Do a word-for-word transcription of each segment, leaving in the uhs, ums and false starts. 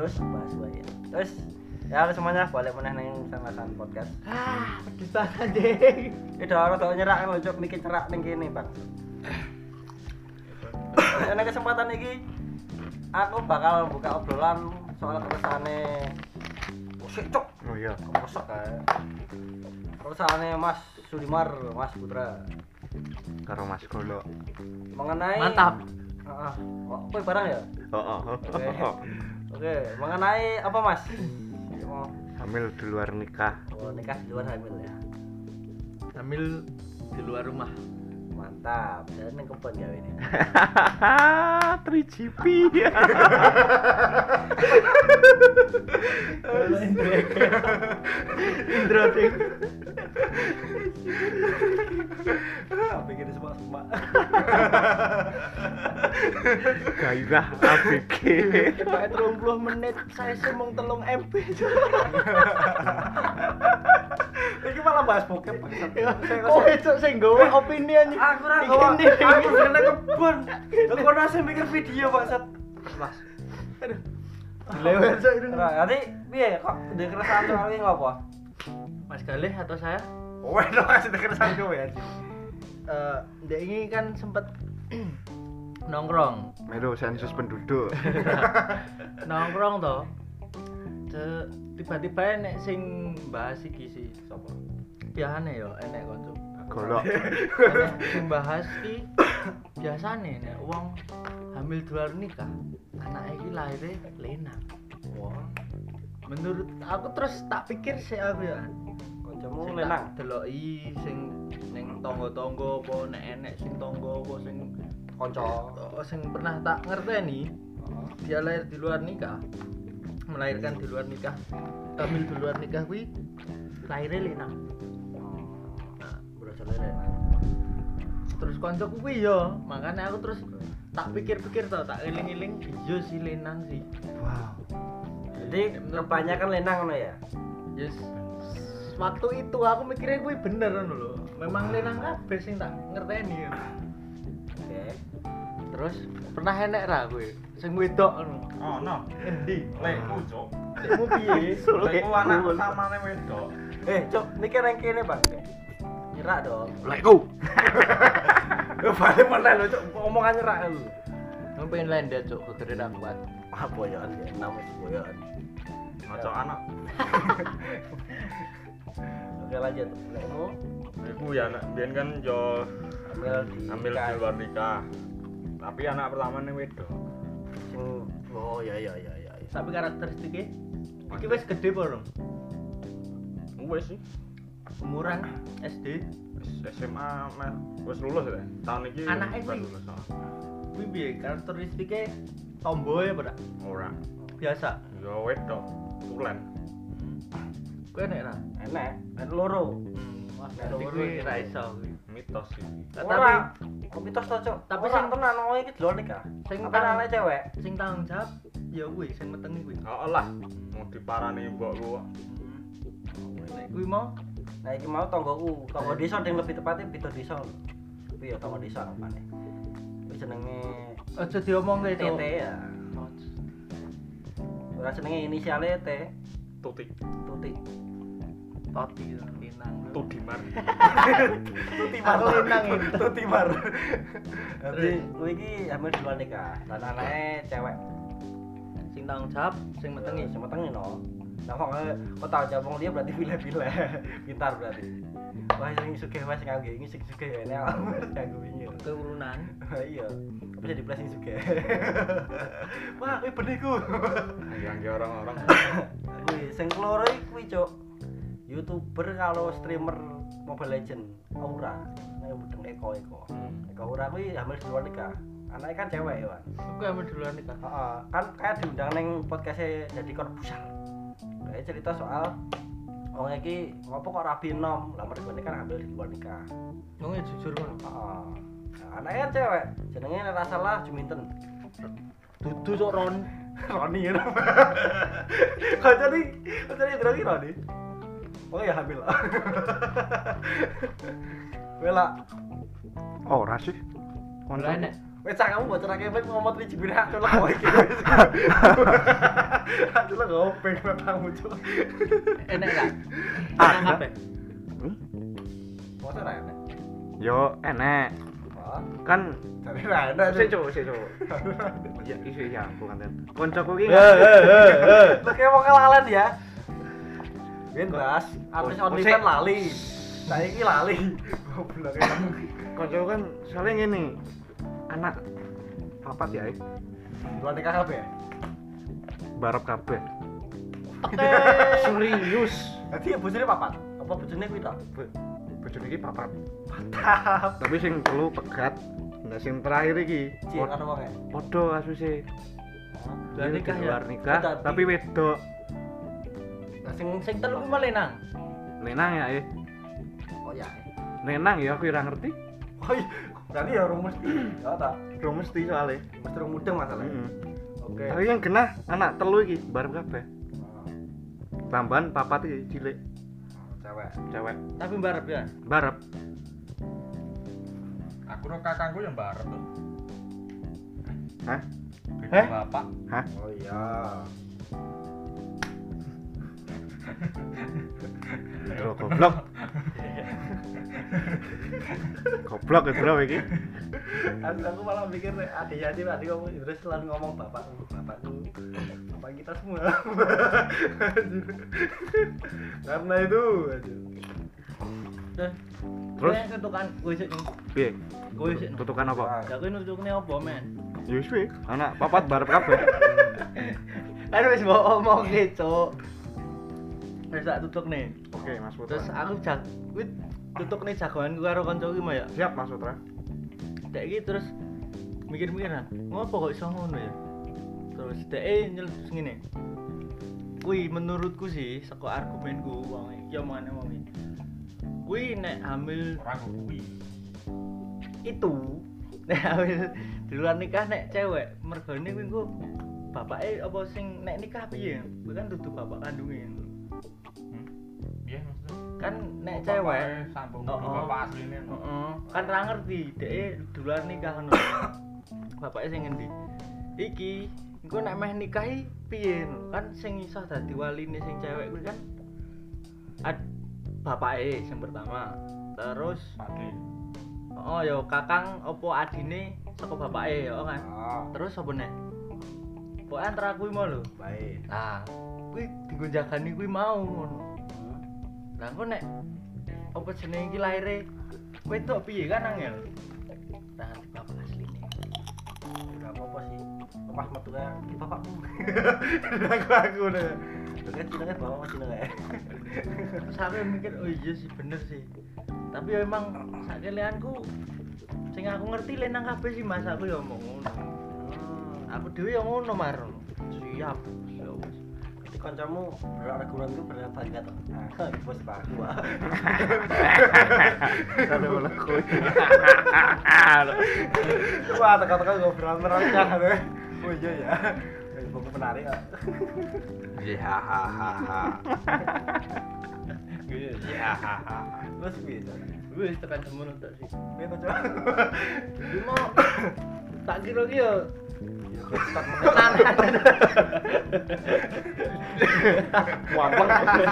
terus bahas wae. Terus ya semuanya balik meneh ning Sangasan Podcast. Ah, pedes banget anjing. Iki ora tok nyerak lho cuk mikir nyerak ning kene, Bang. Nek kesempatan iki aku bakal buka obrolan soal keresane musik cuk. Oh iya. Kosok kae. Keresane Mas Sudimar, Mas Putra. Karo Mas Golo. Mengenai Mantap. Heeh. Kok kowe barang ya? Heeh. Oke. Oke, mengenai apa Mas? Oh, Hamil di luar nikah. oh, nikah di luar hamil ya. Hamil di luar rumah. Mantap. Dan ning kebon ya ini. tiga G P. Indro ding. Bikin semak-semak. Gairah A B G. Pakai tiga puluh menit saya sih mung telung M B. Iki malah bahas bokep. Oh, itu sing nggawa opini anjing. Aku ora gawa. Aku kena kebon. Aku ora sing mikir video, Bangsat. Mas. Aduh. Dilewet sok itu. Ora, nanti piye kok ndek keresahan soal iki ngopo? Mas Galih atau saya? Kowe dong kasih keresahan kowe anjing. Eh, ndek ini kan sempet nongkrong. Melu sensus penduduk. Nongkrong toh. Ce- tiba-tiba enek sing bahas iki sih. Sopo? Biasane yo enek kanca. Golok. Enek sing bahas iki biasane nek wong hamil di luar nikah, anake iki lahire lenang. Wah, Menurut aku terus tak pikir sih aku ya. kancamu Sing lenang. tak deloki sing ning tangga-tangga apa nek enek sing tangga apa sing Kanca. oh, sing pernah tak ngerteni dia lahir di luar nikah, melahirkan di luar nikah, hamil di luar nikah kuwi lahirnya lenang. Nah, Berasal lenang. terus koncoku kuwi yo, makanya aku terus tak pikir-pikir tau, tak eling-eling iya sih lenang sih. Wow. Jadi kebanyakan lenang ngono ya. Yes. Waktu itu aku mikirnya kuwi bener ngono lho. Memang lenang kabeh sing tak ngerteni. Oke. Terus pernah enek ra kuwi sing wedok ngono. Oh no, Endi? lekku cuk. Lekmu piye? Lekku anak utamane wedok. Eh, cuk, mikir nang kene, Bang. Nyerak dong. Lekku. Yo balik meneh lho, cuk, omongan nyerak lho. Aku pengen lendet cuk, gegere ra kuat. Ah, boyoan ya, namanya boyoan. Ngocok anak. Oke, lanjut. Lekmu Iku ya anak biyen kan yo hamil di hamil di luar nikah. Tapi anak pertamane wedok. sing oh ya ya ya ya. ya. Tapi karakteristiknya iki wis gede apa dong? Wes sih. Umuran S D. S M A meh wis lulus ya. Tahun iki Anake baru kuwi? lulus. oh. Kuwi piye karakteristiknya tomboy apa dak? Ora. Biasa. Yo wedok. Tulen. Kuwi enek ra? Enek, enek loro. Hmm, wah, Nek berarti loro kuwi iki. ra iso kuwi. Mitos sih. Ora, kok mitos to, Cuk? Tapi Ora sing- tenan wong iki delok nikah. Sing Apa tang- anak cewek? Sing tanggung jawab ya kuwi sing metengi kuwi. Oh lah, mau diparani mbokku. Nek kuwi mau Nah, iki mau tanggoku, tanggo desa sing lebih tepatnya beda desa. Kuwi ya tanggo desa apane. Kuwi jenenge aja diomongke T cuk. T ya. Ora jenenge inisiale T, Tutik. Tuti. Toti linang. Tudimar. Tuti Aku linang itu. Tuti mar. Jadi kuwi iki hamil di luar nikah. Lan anake cewek. Sing tanggung jawab sing metengi. Sing metengi no. Nah, kok kok tau jawab wong dia berarti pilih-pilih. Pintar berarti. Wah, sing sugih wae sing nganggo iki sing sugih ya enek nganggo wingi. Keturunan. Iya. Tapi jadi plus sing sugih. Wah, kuwi beneku. Yang ke orang-orang. Kuwi sing keloro iki kuwi, Cuk. YouTuber kalau streamer Mobile Legend Aura. Nek mudeng Eko Eko. Eko Aura kuwi hamil di luar nikah. Anaknya kan cewek ya, Wan. Aku hamil duluan nikah. Heeh, kan kayak diundang ning podcast-e jadi korbusan. Kayak cerita soal wong iki ngopo kok rabi enom, lah mergo kan hamil di luar nikah. Wong e jujur ngono. Heeh. Nah, anaknya kan cewek, jenenge nek ora salah Juminten. Dudu cuk Ron. Roni ya. Kok jadi kok jadi drogi Roni? Oh ya hamil. Wela, Ora sih. Ora enek. Wes kamu bocor akeh mek ngomot iki jebule aku lek kowe iki. Aku lek ngopeng kamu cuk. Enak gak? Enak kabeh. Hmm? Mosok ra enak. Yo enek. Oh, Kan jare ra enak. sik cuk, sik cuk. Ya iso ya aku kan. Koncoku iki Eh eh eh eh. Lek wong lalen ya. Ben Bas, artis Oh, OnlyFans sik. lali. Saiki lali. Goblok emang. koncoku kan soalnya ngene. Anak papat ya, eh. Luar nikah kabeh. Barep kabeh. Oke. Serius. Dadi ya bojone papat. Apa bojone kuwi to? Bo- Bojone iki papat. Mantap. Tapi sing telu pegat. Nah sing terakhir iki Cik karo wong e. padha kasuse. Luar nikah ya? Luar nikah, Tapi- tapi wedok. Lah sing Sing telu ku malah nang. Lenang ya, eh. oh ya. Lenang ya aku ora ngerti. Oh iya, berarti ya rung mesti. Ya ta. Ro mesti soalnya. Mesti rung mudeng masalahnya. Heeh. Oke. Tapi yang kena anak telu iki bareng kabeh. Oh, Tambahan papat iki cilik, cewek. cewek. Tapi mbarep ya. Barep. Aku ro kakangku yang barep tuh. Hah? Beda Heh? bapak. Hah? Oh iya. Bro goblok. Goblok ya bro iki. Aku, aku malah mikir adik adik adik ngomong terus selalu ngomong bapakku, bapakku, bapak kita semua. Karena itu, aduh. Terus Terus? kowe ketukan kowe sik ning. Piye? Kowe sik. Tutukan apa? Ya kowe nutukne apa, men? Ya wis piye? Anak papat barep kabeh. Kan wis mbok omongke, Cuk. Wis tak tutukne. Oke, Mas Putra. Terus aku jag kuwi tutukne jagoanku karo kancaku mah ya. Siap Mas Putra. Dek iki terus mikir-mikir nah, ngopo kok iso ngono ya? Terus dek nyeletus ngene. Kuwi menurutku sih saka argumenku wong iki omongane wong iki. Kuwi nek hamil Orang kuwi. itu nek hamil di luar nikah nek cewek mergane kuwi engko bapake apa sing nek nikah piye? Kuwi kan dudu bapak kandunge. Hmm. Piye maksudnya? Kan nek cewek sambung Oh, oh, oh. bapak asline. heeh, kan ra ngerti dhek di luar nikah ngono. Bapake sing ngendi? Iki engko nek meh nikahi piye? Kan sing iso dadi waline sing cewek kuwi kan ad bapake sing pertama. Terus Pade. oh ya kakang opo adine saka bapake ya kan. Oh, Terus apa nek? Pokoke antara kuwi mau lho. baik. Nah, kuwi dienggo jagani kuwi mau ngono. Lah engko nek apa jenenge iki laire wedok piye kan angel. Nah, di bapak asline. Enggak apa-apa sih. Pas metu kayak "Ki, bapakmu. Aku aku udah. Kan cinanya bapak masih nengah. Terus aku mikir, oh iya sih bener sih. Tapi ya emang sakelianku sing aku ngerti lenang kabeh sih Mas, aku ya omong ngono. Aku dhewe ya ngono mar. Siap. Ya wis. Jadi kancamu berargumen itu benar banget toh. Nah, bos baku. Ada bola kowe. Wah, teka-teka ngobrol merangkah deh. Oh iya ya. Buku menarik ya. Ya hahaha. Ya hahaha. Terus bisa. Wis tekan semono tok sih. Ini kanca. Cuma tak kira ki yo Ya kok tenanan. Wampeng.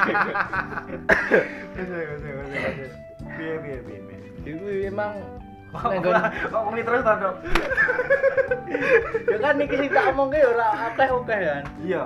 Bisa, bisa, bisa. Piye, piye, piye, piye. Iku emang Kok ngomong terus ta, Dok? ya kan iki sing tak omongke ya ora akeh-akeh kan. Iya.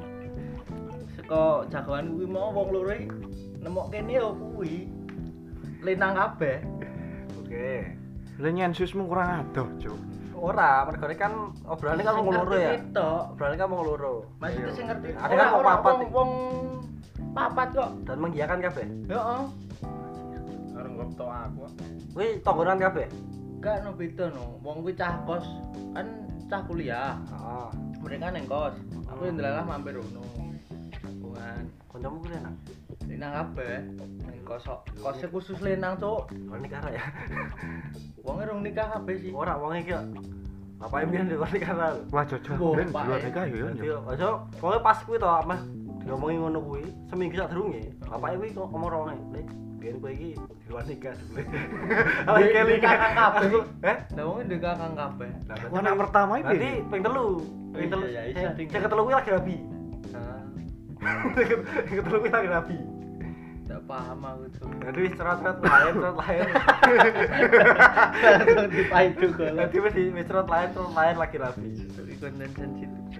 Saka jagoan kuwi mau wong loro iki nemok kene ya kuwi lenang kabeh. Oke. Lah nyensusmu kurang adoh, Cuk. Ora, mergo kan obrolane kan wong loro ya. Tok. Obrolane kan wong loro. Maksudnya sing ngerti. Ada kan wong papat wong, iki. wong papat kok. Dan mengiyakan kabeh. Heeh. Karo ngopto aku. Kuwi tonggonan kabeh. Gak no beda no. Wong kuwi cah kos kan cah kuliah. Heeh. Mereka neng kos. Aku yang delalah mampir ono. Hubungan Kancamu kuwi enak. lenang kabeh. Neng kos kok. Kosnya khusus lenang, Cuk. Wong nikah ra ya. Wong rong nikah kabeh sih. Ora wong iki. Bapake mbiyen di nikah ra. Wah, jojo. Wah, Ben Pak, luar eh. nikah ya. Dadi aja pokoke pas kuwi to, Mas diomongi ngono kuwi, seminggu sadurunge, bapake kuwi kok ngomong rono, "Lek, biyen kowe iki di luar nikah dulu." Ala keling kakang kabeh. Heh? Lah wong ndek kakang kabeh. Lah Aku anak pertama iki. berarti ping telu. Ping telu. Iya, iya, Sing iya. sing ketelu kuwi lagi rabi. Nah, Sing ketelu kuwi lagi rabi. enggak paham aku tuh. Jadi cerot-cerot lain, cerot lain. Langsung dipaidu kok. Jadi wis di- wis cerot lain, cerot lain lagi rabi. Iki konten sensitif.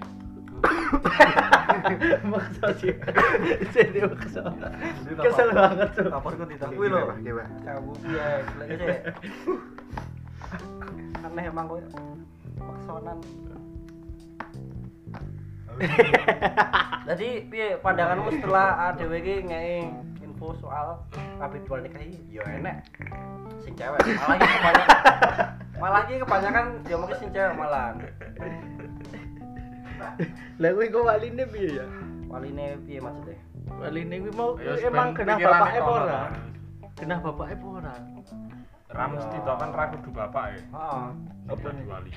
Maksa sih. Jadi maksa. Kesel banget tuh. Laporku tidak kuwi lho. Oke, Pak. Kamu piye? Lek sik. Aneh emang kowe. Maksonan. Jadi piye pandanganmu setelah A D W iki ngei info soal kabeh dual nikah iki? Ya enek. Sing cewek, malah iki kebanyakan. Malah iki kebanyakan dia mungkin sing cewek malah. Lah kuwi kok waline piye ya? Waline piye maksudnya? Waline kuwi mau Ya, emang sepen genah pikirane bapake apa kono, ora? Pak. Genah bapake apa ora? Ra mesti to kan ra kudu bapak ya. Heeh. Apa diwali?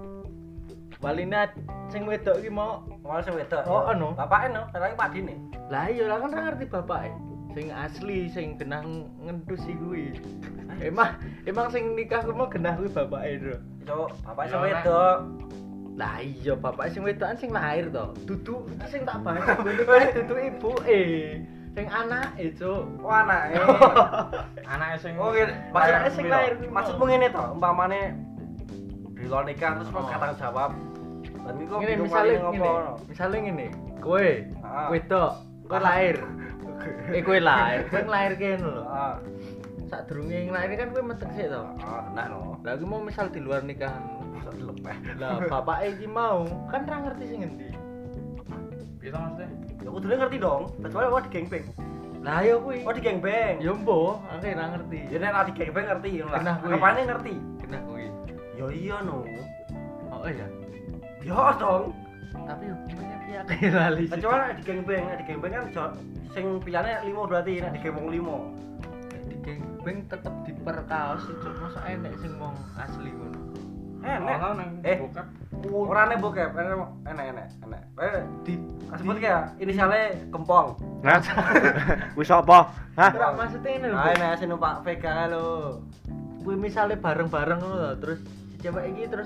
Waline sing wedok iki mau Malah sing wedok. Oh, anu. Bapake no, lagi Pak Dine. lah iya lah kan ora ngerti bapake. Sing asli sing genah ngendus iki kuwi. Emang emang sing nikah kuwi mau genah kuwi bapake lho. Cuk, bapake sing Ya, Nek. wedok. Lah iya bapake sing wedokan sing lahir to. Dudu iki sing tak bahas kuwi dudu ibuke. Sing anake, Cuk. Oh, anake. Anake sing Oh, ngene. Maksudnya Maksudnya sing lahir kuwi. Maksudmu ngene to, umpamane di luar nikah terus kok Oh. tanggung jawab. Dan iku Ngene bingung misale waline ngene. ngopo. Misale ngene. Kowe Ah. wedok, kowe lahir. Eh kowe lahir, kowe lahir kene lho. Ah, Sadurunge lahir kan kowe metek sik to. ah, nah no. Lah kuwi mau misal di luar nikahan. Bisa dilepeh. Lah bapake iki mau kan ora ngerti sing endi. piye to maksudnya? Ya kudune ngerti dong, kecuali wah di gengbeng. Lah ya kuwi. Oh di gengbeng. Ya mbok, aku ora ngerti. Ya nek ra di gengbeng ngerti ngono lah. Genah kuwi. Apane ngerti? Genah kuwi. Ya iya no. Oh iya. Ya dong. Tapi hukumannya piye akeh lali sih. Kecuali nek di gengbeng, nek di gengbeng kan jo- sing pilihane lima berarti nek di gengbeng lima. di gengbeng tetep diperkaos itu masa enek sing wong asli ngono. Enek. Ono nang Eh. bokep. Ora nek bokep, enek enek enek enek. Eh, Di sebut ya inisialnya Kempong. Nah. Wis apa? Hah? ora maksudnya ini lho. Ah, enek sing numpak Vega lho. Kuwi misale bareng-bareng ngono lho, terus si cewek iki terus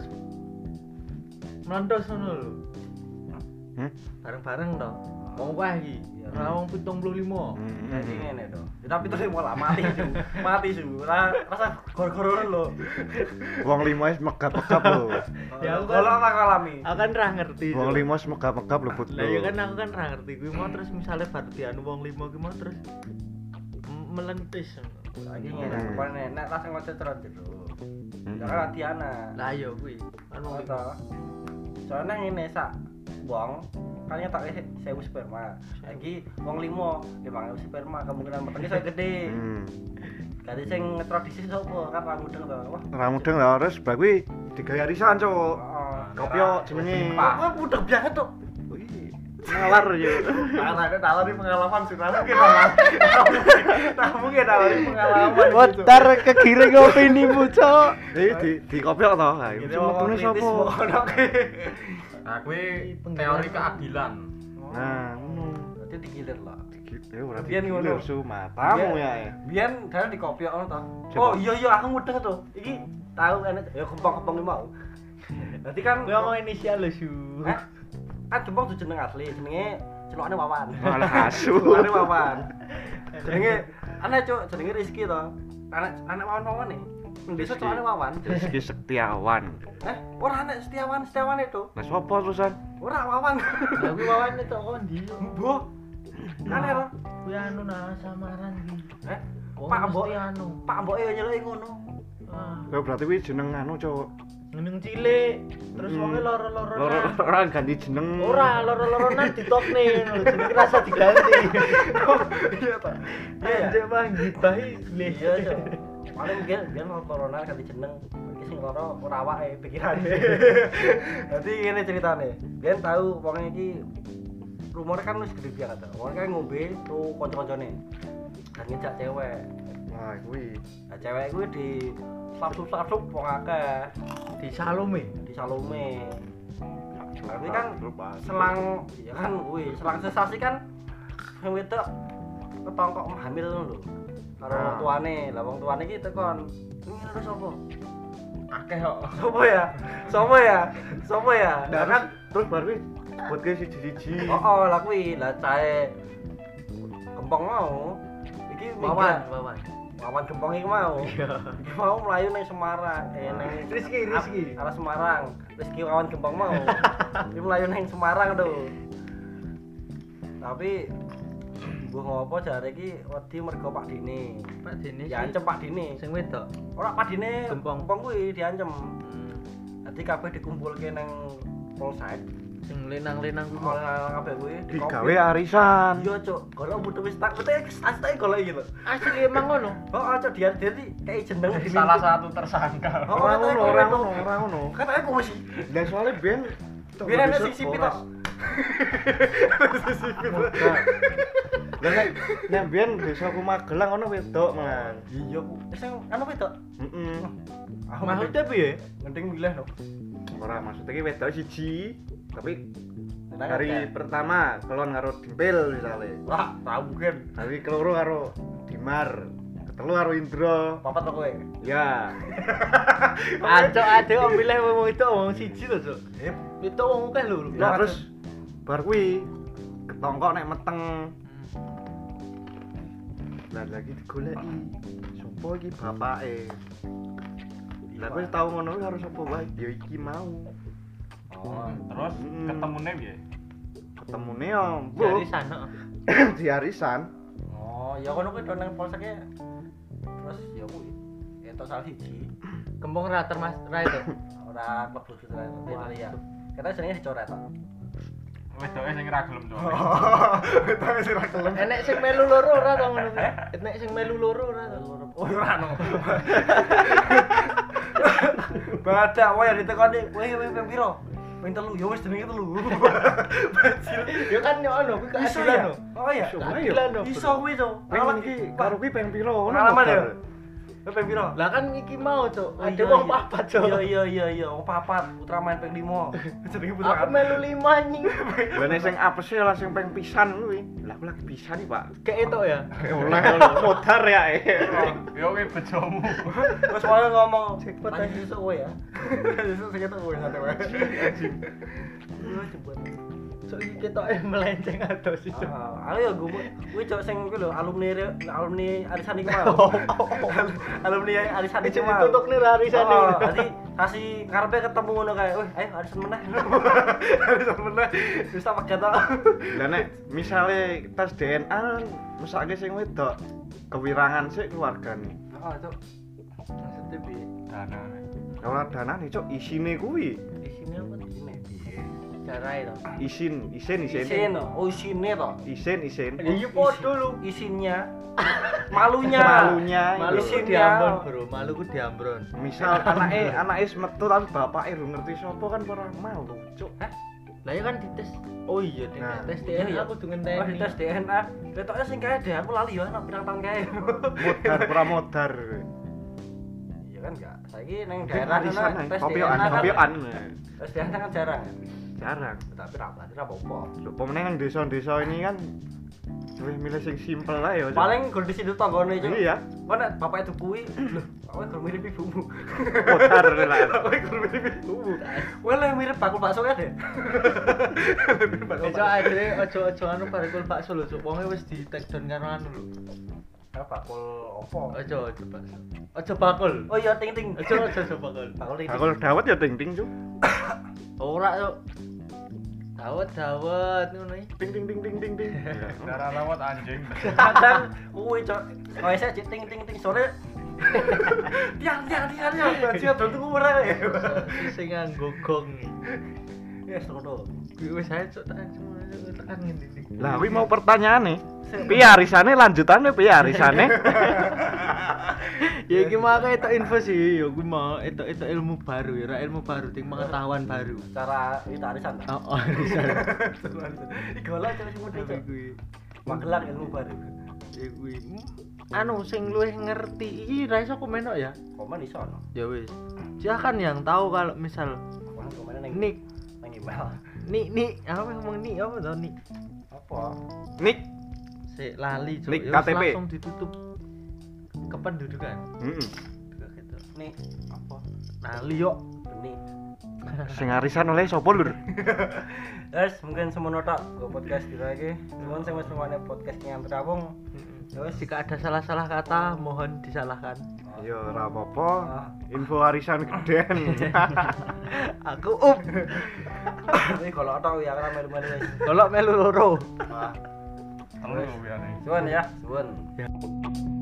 mlentos ngono lho. Hmm? Bareng-bareng to. Wong wae iki. Iya. Ora wong tujuh puluh lima. Jadi ngene to. Ya, tapi terus malah mati su. Mati su. Ora rasa gor-gororan lho. Wong lima wis megap-megap lho. Ya, aku kan- kalau tak alami. Aku kan ra ngerti. Wong Cuk. lima wis megap-megap lho, Bud. Lah ya kan aku kan ra ngerti kuwi mau terus misale bar dianu wong lima ki mau terus m- melentis. Lagi ngene, Hmm. kepane nek langsung ngocet-cerot gitu. Hmm. Ya kan Atiana. Lah ya kuwi. Anu Oh, to. Soalnya ngene sak wong kan tak sewu sperma. Lagi wong limo lima ribu sperma kemungkinan metenge saya gede. Hmm. Gadi sing ngetradisi sapa kan ra mudeng to. Wah, Ora mudeng lah terus bar kuwi digawe arisan, Cuk. heeh. Kopyo jenenge. Wah, mudeng banget tuh. Wih, nalar yo. Anaknya tahu pengalaman sudah mungkin lah. Tak mungkin tahu pengalaman. Wotar kegiring opinimu, Cok. Eh di di kopyo to. Ha, Ini iku metune sapa? Nah, kuwi teori keadilan. Nah, ngono. Berarti digilir lah. Gitu ora Biyen ngono. su matamu ya. eh. Biyen dalan di kopi ono to. Coba. Oh iya iya aku mudeng to. Iki tahu enek ya kempong-kempong iki mau. Berarti kan Kuwi ngomong inisial lho, Su. Hah? Kan kempong tuh jeneng asli, jenenge celokane Wawan. Malah asu. Celokane Wawan. Jenenge aneh cuk, jenenge Rizky to. Anak anak Wawan-Wawan nih. Desa celokane Wawan. Rizky Setiawan. Eh, ora anak Setiawan, Setiawan itu. Nah, sapa terusan? Ora Wawan. Lah kuwi wawane tok kondi. Mbok. Aneh to. Kuwi anu nah samaran iki. Eh, Wong Pak Mbok. mesti anu. Pak Mbok ya nyeluki ngono. Ah, Lah berarti kuwi jeneng anu, Cuk. ngeneng cilik. Terus Hmm. wonge loro-loro. Loro ora ganti jeneng. Ora, loro-loronan ditokne ngono. Jenenge rasa diganti. Iya to. Iya ya. Anjir bang gibahi. Iya, Cuk. Paling biyen biyen corona ganti jeneng. Iki sing loro ora awake pikirane. Dadi ngene ceritane. Biyen tahu wong iki rumornya kan wis gede banget. Wong kan ngombe tuh kanca-kancane. Dan ngejak cewek. Wah, kuwi. Nah, cewek kuwi di slap-slap wong akeh Di Salome. di Salome. Berarti kan selang ya kan kuwi, selang sensasi kan sing wedok ketongkok hamil ngono lho. Karo wong tuane. Lah wong tuane iki tekon. Ini lho sapa? Akeh kok. Sopo ya? Sopo ya? Sopo ya? Nah, Lah kan terus baru kuwi buat ke siji-siji. oh, oh lah kuwi lah cahe gempong mau. Iki Wawan, minggat. wawan. Wawan gempong iki mau. Iya. Iki mau mlayu ning Semarang. Eh ning Rizky, Rizky. arah Semarang. Rizky Wawan gempong mau. Iki mlayu ning Semarang tuh. Tapi mbuh ngopo jare iki wedi mergo Pak Dini. Pak Dini. Diancem Pak Dini. Sing wedok. Ora Pak Dini Gempong. gempong kuwi diancem. Dadi kabeh dikumpulke ning Polsek. Sing lenang-lenang kuwi. Malah kabeh kuwi Digawe arisan. Iya, Cuk. Golek butuh wis tak betul asli golek iki lho. Asli emang ngono. Oh, Cuk, dia jadi kayak jeneng di Salah satu tersangka. Oh, Ora ngono, katanya ora ngono. ngono, ora ngono. Kan aku mesti Dan soalnya Ben biar ana sisi pitok. Dan nek nek Ben desaku Magelang ono wedok, Man. Iya, Bu. Sing anu wedok. Heeh. Maksudnya piye? Mending milih no. Ora maksudnya ki wedok siji, tapi Tenang hari aja. pertama kelon karo Dimpil misalnya. Wah, tahu mungkin. Hari keloro karo Dimar. Ketelu karo Indra. Papat to kowe. Ya. Ancok ade kok milih wong itu wong siji lho, Cuk. Eh, Itu wong akeh lho. Nah, terus bar kuwi ketongkok nek meteng. Lah lagi digoleki. Sopo iki bapake? Lah kowe tau ngono kuwi harus sapa wae? Ya iki mau. oh, Terus Hmm. ketemune piye? Ketemune yo, dari Bu. sana. Di arisan. oh, ya kono kuwi do nang polseknya. Terus ya kuwi. Entuk salah siji. Kembung ra termas ra itu. Ora klebu gitu kan. Ya. Kita jenenge dicoret to. Wedoke sing ra gelem to. Tapi sira kelem. Enek sing melu loro ora to ngono kuwi. Enek sing melu loro ora to. Oh, ora no. Badak wae ditekoni, kowe kowe ping piro? Ping telu, ya wis jenenge telu. Bajil. Ya kan yo ono kuwi Iso keadilan ya? lho. Oh iya. Keadilan lho. Iso kuwi to. Pengen iki karo kuwi peng piro ngono. Pengalaman ya? Bar. Kowe ping piro? Lah kan iki mau, Cuk. Oh, Ada iya, wong iya. papat, Cuk. Iya iya iya iya, wong papat, putra main ping lima. Jenenge putra. Aku melu lima anjing. Lah nek sing apese lah sing peng pisan kuwi. Lah aku lagi pisan iki, Pak. Kayak itu ya. Oleh modar ya. Yo kowe bojomu. Terus wae ngomong, Jackpot "Mati aja." sesuk kowe ya." Sesuk sing ketok kowe santai wae. Lu jebot. So iki ketoke melenceng atos sih. Cuk. Ah, aku ya gue, gue cok sing gue lho alumni alumni arisan iki mau. Alumni arisan iki Iki mau. ditutuk nih arisan Oh, iki. Tadi kasih karepe ketemu ngono kae. Wih, ayo arisan meneh. Arisan meneh. Wis tak pegat tok. Lah nek misale tes D N A mesake sing wedok kewirangan sik keluargane. Oh, cok. Maksudnya piye? Danane. Ora danane cuk isine kuwi. Di sini apa di sini? Cara itu. Isin, isin, isin. Isin, oh isine to. Isin, isin. Ya iya podo lu. Isinya malunya. Malunya. Malu ku Isinya. diambron, Bro. Malu ku diambron. Misal anake anake wis metu tapi bapake ru ngerti sapa kan ora malu, cuk. Hah? Lah ya kan dites. Oh iya, di Nah, tes D iya, N iya. A aku tuh Oh, ngenteni. di tes D N A. Ketoknya sing kae deh, aku lali ya, nak pirang tahun kae. Modar ora modar. Iya kan enggak. Saiki ning daerah Arisan sana ae, tes D N kopioan, A kan. kopioan. Tes D N A kan jarang. Jarang. Tapi ra berarti ra apa-apa. Lho pemenang nang desa-desa ini kan wis milih sing simpel ae ya. Cuk. Paling gur di situ tanggane cuk. Iya. Kok nek bapak itu kuwi, lho, kowe gur mirip ibumu. Modar lah. Kowe gur mirip ibumu. Kowe le mirip bakul bakso ya deh. Mirip bakul Ojo akhirnya ojo-ojo anu parikul bakso lho, Cuk. Wonge wis di take down karo anu lho. Ah, bakul opo? Ojo ojo bakso. Ojo bakul. Oh iya ting ting. Ojo ojo ojo bakul. Bakul ting. Aku dawet ya ting-ting cuk. Ora, Cuk. Dawet dawet ngono iki. Ting ting ting ting ting ting. Darah lawat anjing. Kadang kuwi cok. Kowe sik ting ting ting sore. Tiang tiang tiang tiang. Bajia dontu ora ya. Sing nganggo gong. Ya serono. Kuwi wis ae Cuk tak semuanya tekan ngene iki. Lah kuwi mau pertanyaane. Piye arisane lanjutane piye arisane? Ya iki mah aku etok info sih, ya kuwi mau etok-etok ilmu baru, ya ilmu baru, ting pengetahuan baru. Cara itu arisan. Oh, oh, bisa. Digolak cok sing mudi cok. Kuwi. Magelang ilmu baru. Ya kuwi. Anu sing luwih ngerti iki ra iso komen kok ya. Komen iso no. Ya wis. Silakan yang tahu kalau misal Wah, komen ning Nik, ning email. Nik, Nik, apa ngomong Nik apa to Nik? Apa? Nik Sik lali cuk. Nik Ya K wis T P. langsung ditutup kependudukan. Heeh. Kayak gitu. Nih apa? Lali yo. Benih. Sing arisan oleh sapa lur? Guys, mungkin semono tok go podcast dina iki. Nuwun sing wis ngrungokne podcast Nyantar Rawung. Ya wis Jika ada salah-salah kata mohon disalahkan. Ya ora apa-apa. Info arisan geden. Aku up. Kuwi golok tok ya ora melu-melu wis. Kalau melu loro. Wah, Telu biar nih. suwun ya, suwun. Ya.